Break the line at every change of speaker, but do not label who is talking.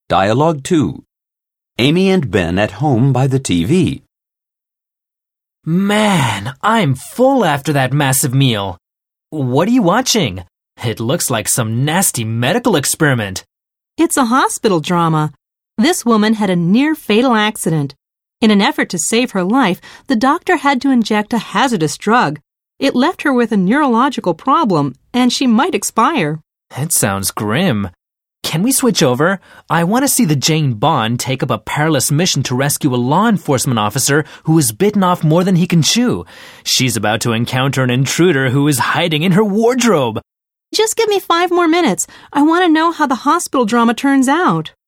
Dialogue 2. Amy and Ben at home by the TV.
Man, I'm full after that massive meal. What are you watching? It looks like some nasty medical experiment.
It's a hospital drama. This woman had a near-fatal accident. In an effort to save her life, the doctor had to inject a hazardous drug. It left her with a neurological problem, and she might expire.
It sounds grim. Can we switch over? I want to see the Jane Bond take up a perilous mission to rescue a law enforcement officer who is bitten off more than he can chew. She's about to encounter an intruder who is hiding in her wardrobe.
Just give me 5 more minutes. I want to know how the hospital drama turns out.